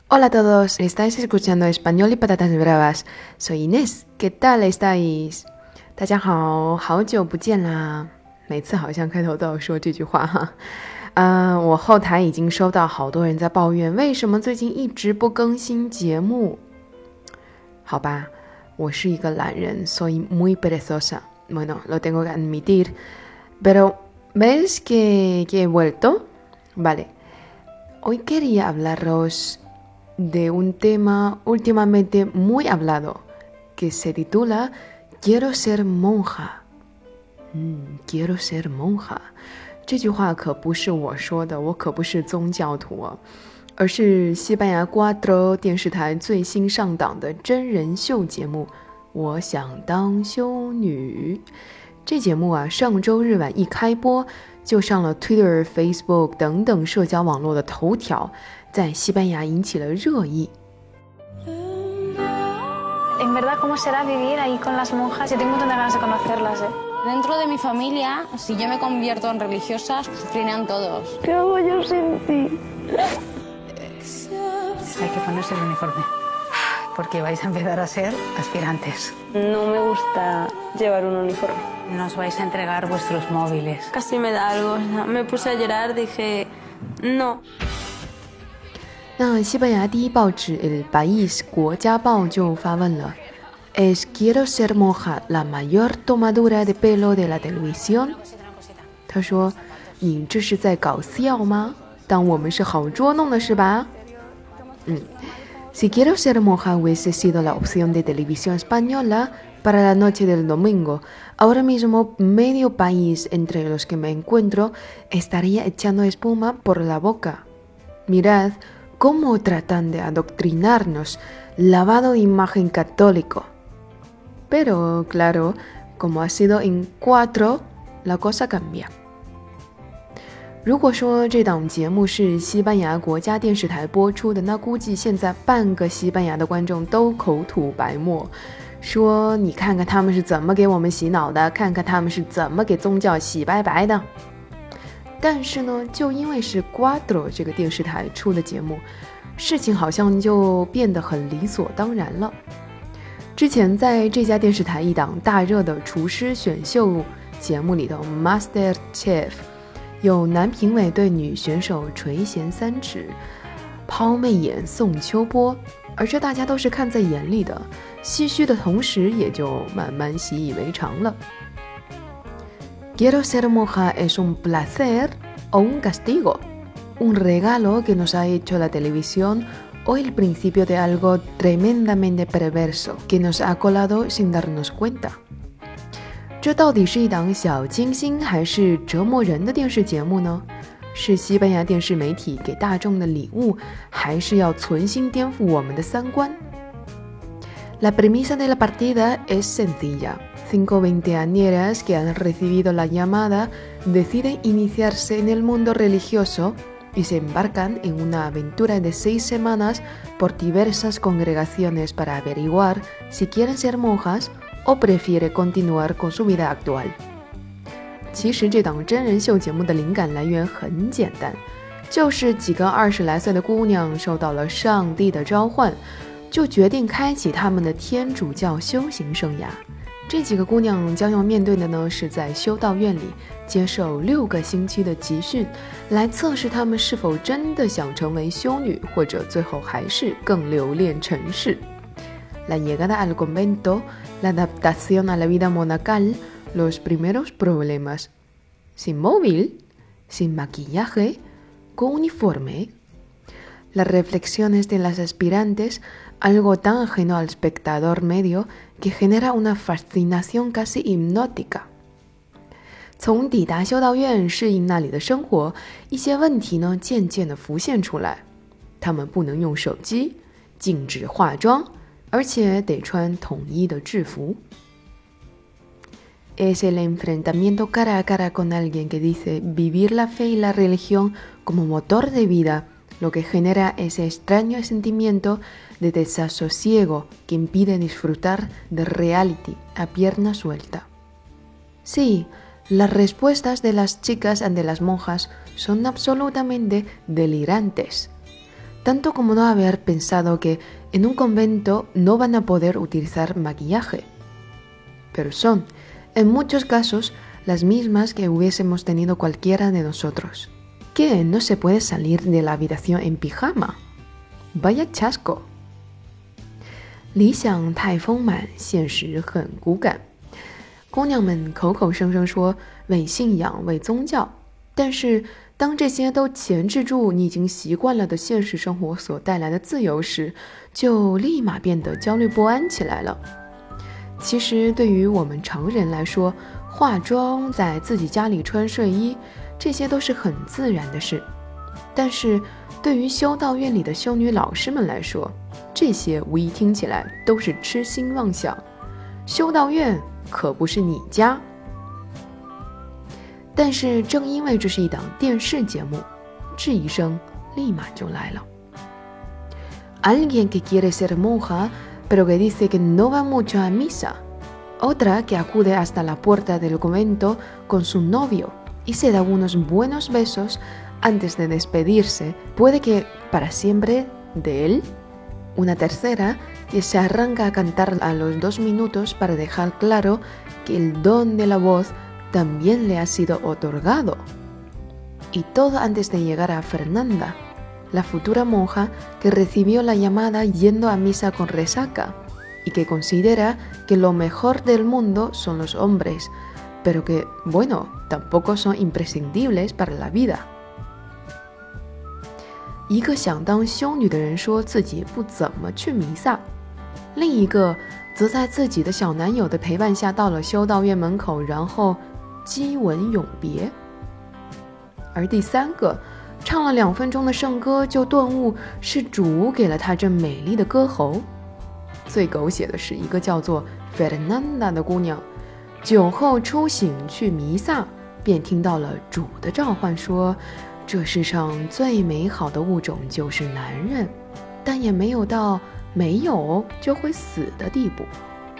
Hola a todos, estáis escuchando Español y Patatas Bravas. Soy Inés, ¿qué tal estáis? 大家好，好久不见啦！每次好像开头都要说这句话哈。我后台已经收到好多人在抱怨，为什么最近一直不更新节目？好吧，我是一个懒人 ，soy muy perezosa. Bueno, lo tengo que admitir. Pero ¿ves que he vuelto? Vale. Hoy quería hablaros de un tema últimamente muy hablado, que se titula Quiero ser monja. Quiero ser monja. 这句话可不是我说的，我可不是宗教徒哦，而是西班牙 Cuatro 电视台最新上档的真人秀节目《我想当修女》。这节目啊，上周日晚一开播就上了 Twitter、Facebook 等等社交网络的头条，在西班牙引起了热议。 En verdad, ¿cómo será vivir ahí con las monjas? Yo tengo muchas ganas de conocerlas, ¿eh? Dentro de mi familia, si yo me convierto en religiosa, sufrirán todos. ¿Qué hago yo sin ti? Hay que ponerse el uniforme, porque vais a empezar a ser aspirantes. No me gusta llevar un uniforme. Nos vais a entregar vuestros móviles. Casi me da algo. Me puse a llorar, dije, no. 那西班牙第一报纸《El País》国家报就发问了 ¿Es quiero ser monja la mayor tomadura de pelo de la televisión？ 他说你这是在搞笑吗？当我们是好捉弄的是吧？Si quiero ser monja hubiese sido la opción de televisión española para la noche del domingo. Ahora mismo medio país entre los que me encuentro estaría echando espuma por la boca. Mirad cómo tratan de adoctrinarnos, lavado de imagen católico. Pero claro, como ha sido en Cuatro, la cosa cambia. 如果说这档节目是西班牙国家电视台播出的，那估计现在半个西班牙的观众都口吐白沫，说你看看他们是怎么给我们洗脑的，看看他们是怎么给宗教洗白白的。但是呢，就因为是 Cuatro 这个电视台出的节目，事情好像就变得很理所当然了。之前在这家电视台一档大热的厨师选秀节目里头 Master Chef， 有男评委对女选手垂涎三尺，抛媚眼送秋波，而这大家都是看在眼里的，唏嘘的同时也就慢慢习以为常了。Quiero ser monja es un placer o un castigo, un regalo que nos ha hecho la televisión o el principio de algo tremendamente perverso que nos ha colado sin darnos cuenta. 这到底是一档小清新还是折磨人的电视节目呢？是西班牙电视媒体给大众的礼物，还是要存心颠覆我们的三观？ La premisa de la partida es sencilla.5 veinteañeras que han recibido la llamada deciden iniciarse en el mundo religioso y se embarcan en una aventura de 6 semanas por diversas congregaciones para averiguar si quieren ser monjas o prefiere continuar con su vida actual. 其实这档真人秀节目的灵感来源很简单，就是几个20来岁的姑娘受到了上帝的召唤，就决定开启他们的天主教修行生涯。这几个姑娘将要面对的呢，是在修道院里接受6个星期的集训，来测试她们是否真的想成为修女，或者最后还是更留恋尘世。La llegada al convento, la adaptación a la vida monacal, los primeros problemas. Sin móvil, sin maquillaje, con uniforme. Las reflexiones de las aspirantes, algo tan ajeno al espectador medio que genera una fascinación casi hipnótica. 从抵达修道院适应那里的生活，一些问题呢渐渐地浮现出来。他们不能用手机，禁止化妆，而且得穿统一的制服。Es el enfrentamiento cara a cara con alguien que dice vivir la fe y la religión como motor de vida lo que genera ese extraño sentimiento de desasosiego que impide disfrutar de reality a pierna suelta. Sí, las respuestas de las chicas ante las monjas son absolutamente delirantes. tanto como no haber pensado que en un convento no van a poder utilizar maquillaje. Pero son, en muchos casos, las mismas que hubiésemos tenido cualquiera de nosotros. ¿Qué? ¿No se puede salir de la habitación en pijama? Vaya chasco. 理想太丰满，现实很骨感。姑娘们口口声声说为信仰、为宗教，但是当这些都钳制住你已经习惯了的现实生活所带来的自由时，就立马变得焦虑不安起来了。其实对于我们常人来说，化妆，在自己家里穿睡衣，这些都是很自然的事。但是对于修道院里的修女老师们来说，这些无疑听起来都是痴心妄想。修道院可不是你家。但是正因为这是一档电视节目，质疑声立马就来了。Alguien que quiere ser monja, pero que dice que no va mucho a misa. Otra que acude hasta la puerta del convento con su novio y se da unos buenos besos antes de despedirse, puede que para siempre de él. Una tercera que se arranca a cantar a los 2 minutos para dejar claro que el don de la voz también le ha sido otorgado. Y todo antes de llegar a Fernanda, la futura monja que recibió la llamada yendo a misa con resaca y que considera que lo mejor del mundo son los hombres, pero que, bueno, tampoco son imprescindibles para la vida. 一个想当修女的人说自己不怎么去弥撒，另一个则在自己的小男友的陪伴下到了修道院门口，然后激吻永别。而第三个唱了2分钟的圣歌就顿悟是主给了他这美丽的歌喉。最狗血的是一个叫做 Fernanda 的姑娘，酒后初醒去弥撒，便听到了主的召唤说，这世上最美好的物种就是男人，但也没有到没有就会死的地步。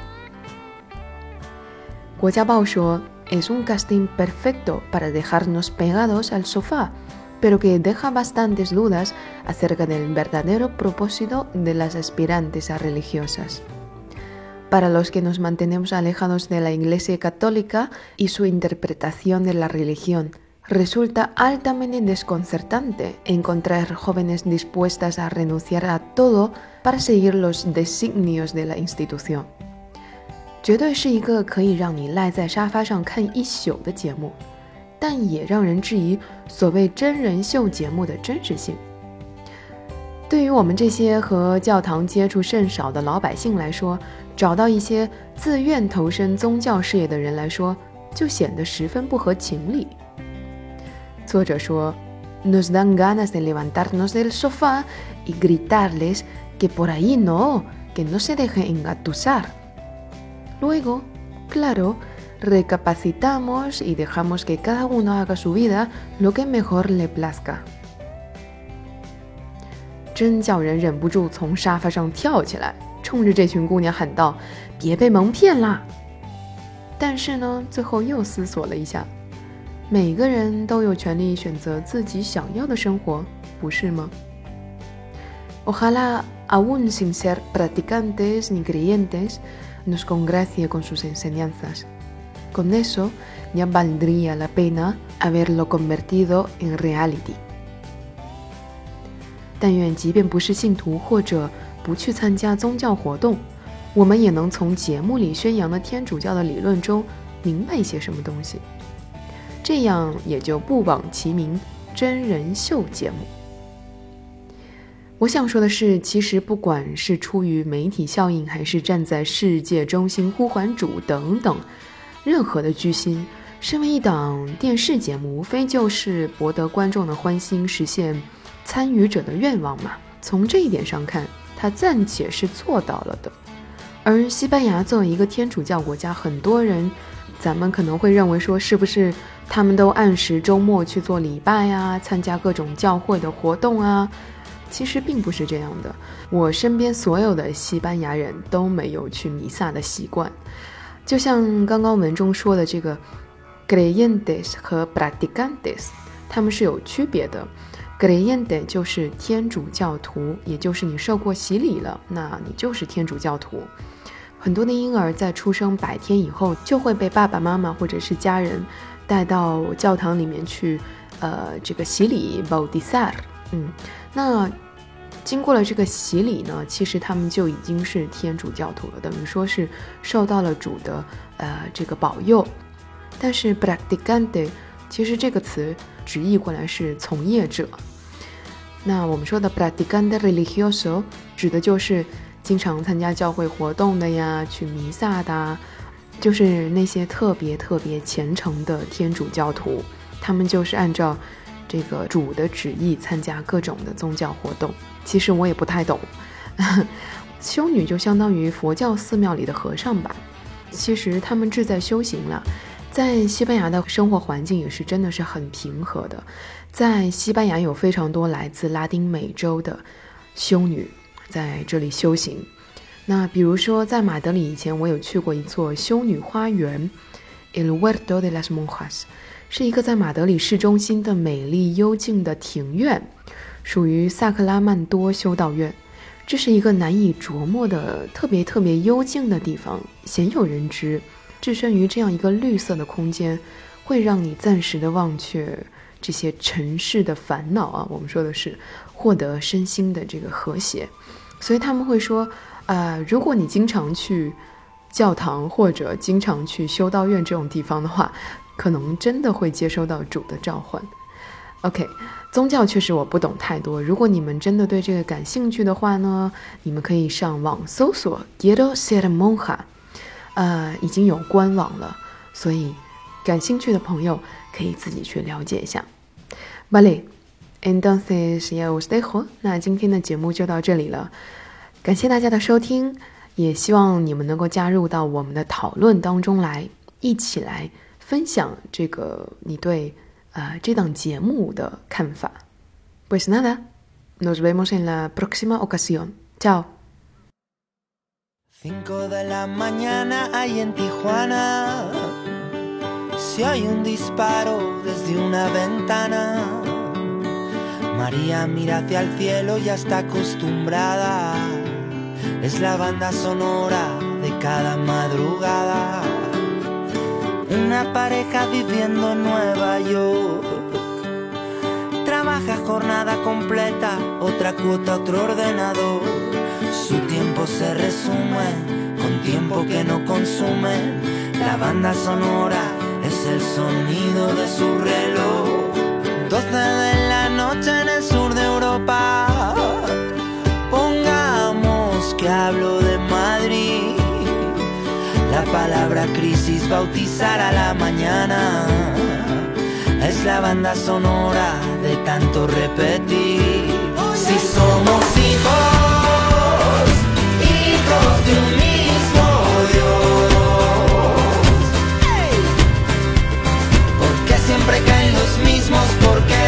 国家报说 Es un casting perfecto para dejarnos pegados al sofá, pero que deja bastantes dudas acerca del verdadero propósito de las aspirantes a religiosas. Para los que nos mantenemos alejados de la Iglesia Católica y su interpretación de la religión, resulta altamente desconcertante encontrar jóvenes dispuestas a renunciar a todo para seguir los designios de la institución. 绝对是一个可以让你赖在沙发上看一宿的节目，但也让人质疑所谓真人秀节目的真实性。对于我们这些和教堂接触甚少的老百姓来说，找到一些自愿投身宗教事业的人来说，就显得十分不合情理。作者说 Nos dan ganas de levantarnos del sofá y gritarles que por ahí no, que no se dejen engatusar.Luego, claro, recapacitamos y dejamos que cada uno haga su vida lo que mejor le plazca. 真叫人忍不住从沙发上跳起来，冲着这群姑娘喊道：“别被蒙骗啦！”但是呢，最后又思索了一下，每个人都有权利选择自己想要的生活，不是吗？ Ojalá, aún sin ser practicantes ni creyentes,nos congracie con sus enseñanzas. Con eso ya valdría la pena haberlo convertido en reality. 但愿即便不是信徒或者不去参加宗教活动，我们也能从节目里宣扬的天主教的理论中明白一些什么东西，这样也就不枉其名真人秀节目。我想说的是，其实不管是出于媒体效应，还是站在世界中心呼唤主等等，任何的居心，身为一档电视节目，无非就是博得观众的欢心，实现参与者的愿望嘛。从这一点上看，它暂且是做到了的。而西班牙作为一个天主教国家，很多人咱们可能会认为说，是不是他们都按时周末去做礼拜啊，参加各种教会的活动啊？其实并不是这样的，我身边所有的西班牙人都没有去弥撒的习惯。就像刚刚文中说的这个 creyentes 和 practicantes， 他们是有区别的。 creyente 就是天主教徒，也就是你受过洗礼了，那你就是天主教徒。很多的婴儿在出生100天以后就会被爸爸妈妈或者是家人带到教堂里面去这个洗礼 bautizar。 那经过了这个洗礼呢，其实他们就已经是天主教徒了，等于说是受到了主的这个保佑。但是 practicante 其实这个词直译过来是从业者。那我们说的 practicante religioso 指的就是经常参加教会活动的呀，去弥撒的，就是那些特别虔诚的天主教徒，他们就是按照这个主的旨意参加各种的宗教活动。其实我也不太懂修女就相当于佛教寺庙里的和尚吧，其实他们志在修行了。在西班牙的生活环境也是真的是很平和的，在西班牙有非常多来自拉丁美洲的修女在这里修行。那比如说在马德里以前我有去过一座修女花园 El Huerto de las Monjas， 是一个在马德里市中心的美丽幽静的庭院，属于萨克拉曼多修道院。这是一个难以琢磨的特别幽静的地方，鲜有人知。置身于这样一个绿色的空间，会让你暂时的忘却这些尘世的烦恼啊，我们说的是获得身心的这个和谐。所以他们会说如果你经常去教堂或者经常去修道院这种地方的话，可能真的会接收到主的召唤。 OK， 宗教确实我不懂太多，如果你们真的对这个感兴趣的话呢，你们可以上网搜索 Quiero ser monja，已经有官网了，所以感兴趣的朋友可以自己去了解一下。Vale, entonces ya os dejo， 那今天的节目就到这里了，感谢大家的收听，也希望你们能够加入到我们的讨论当中来，一起来分享这个你对这档节目的看法。Pues nada, nos vemos en la próxima ocasión. Chao. 5 de la mañana hay en Tijuana, se oye un disparo desde una ventana. María mira hacia el cielo, ya está acostumbrada, es la banda sonora de cada madrugada. Una pareja viviendo en Nueva York, trabaja jornada completa, otra cuota, otro ordenador. Su tiempo se resume con tiempo que no consumen. La banda sonora es el sonido de su reloj. 12 de la noche en el sur de Europa, pongamos que hablo de Madrid. La palabra crisis, bautizar a la mañana, es la banda sonora de tanto repetir. Si somos hijos de un mismo Dios, ¿por qué siempre caen los mismos? ¿Por qué?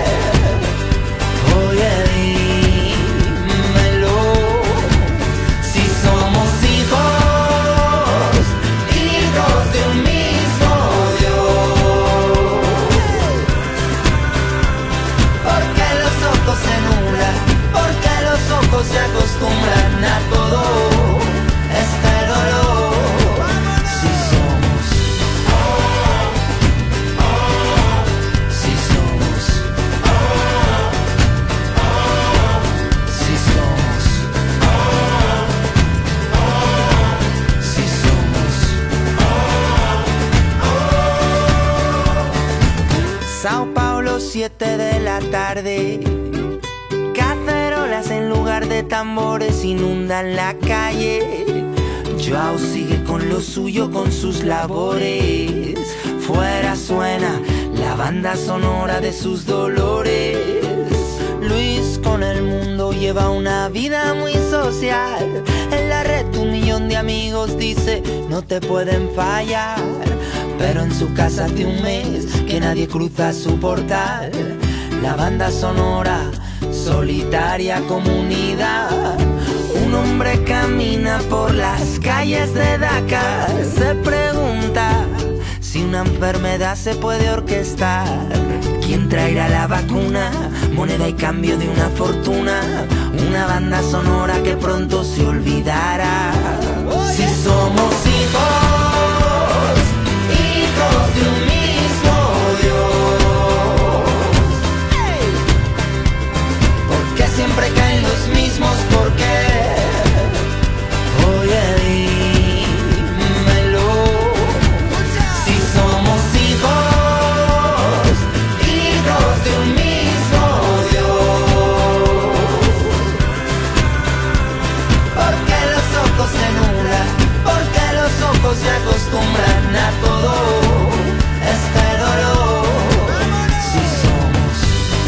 Oye, dímelo. Si somos hijos de un mismo Dios, ¿por qué los ojos se nublan? ¿Por qué los ojos se acostumbran a todo este dolor? Si somos, si somos, si somos, si somos. Sao Paulo, 7 de la tarde, cacerolas en lugar de tambores inundan la calle. Joao sigue con lo suyo, con sus labores. Fuera suena la banda sonora de sus dolores. Luis con el mundo lleva una vida muy social. En la red 1 millón de amigos, dice no te pueden fallar. Pero en su casa hace un mes que nadie cruza su portal. La banda sonora, solitaria comunidad. Un hombre camina por las calles de Dakar, se pregunta si una enfermedad se puede orquestar. ¿Quién traerá la vacuna moneda y cambio de una fortuna, una banda sonora que pronto se olvidará. Si somos hijos, hijos de un mismo Dios, ¿por qué siempre caen los mismos? ¿Por qué? Oye, dímelo. Si somos hijos, hijos de un mismo Dios, ¿por qué los ojos se nublan? ¿Por qué los ojos se acostumbran a todo este dolor? Si somos,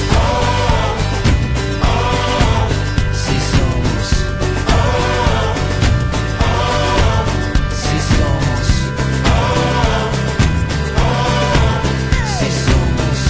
si somos, si somos, si somos,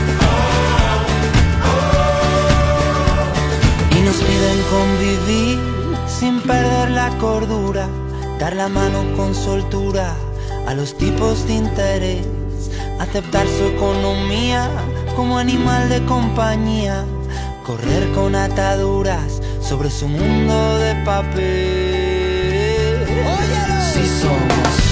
y nos piden convivir sin perder la cordura, dar la mano con soltura a los tipos de interés, aceptar su economía como animal de compañía, correr con ataduras sobre su mundo de papel. Si somos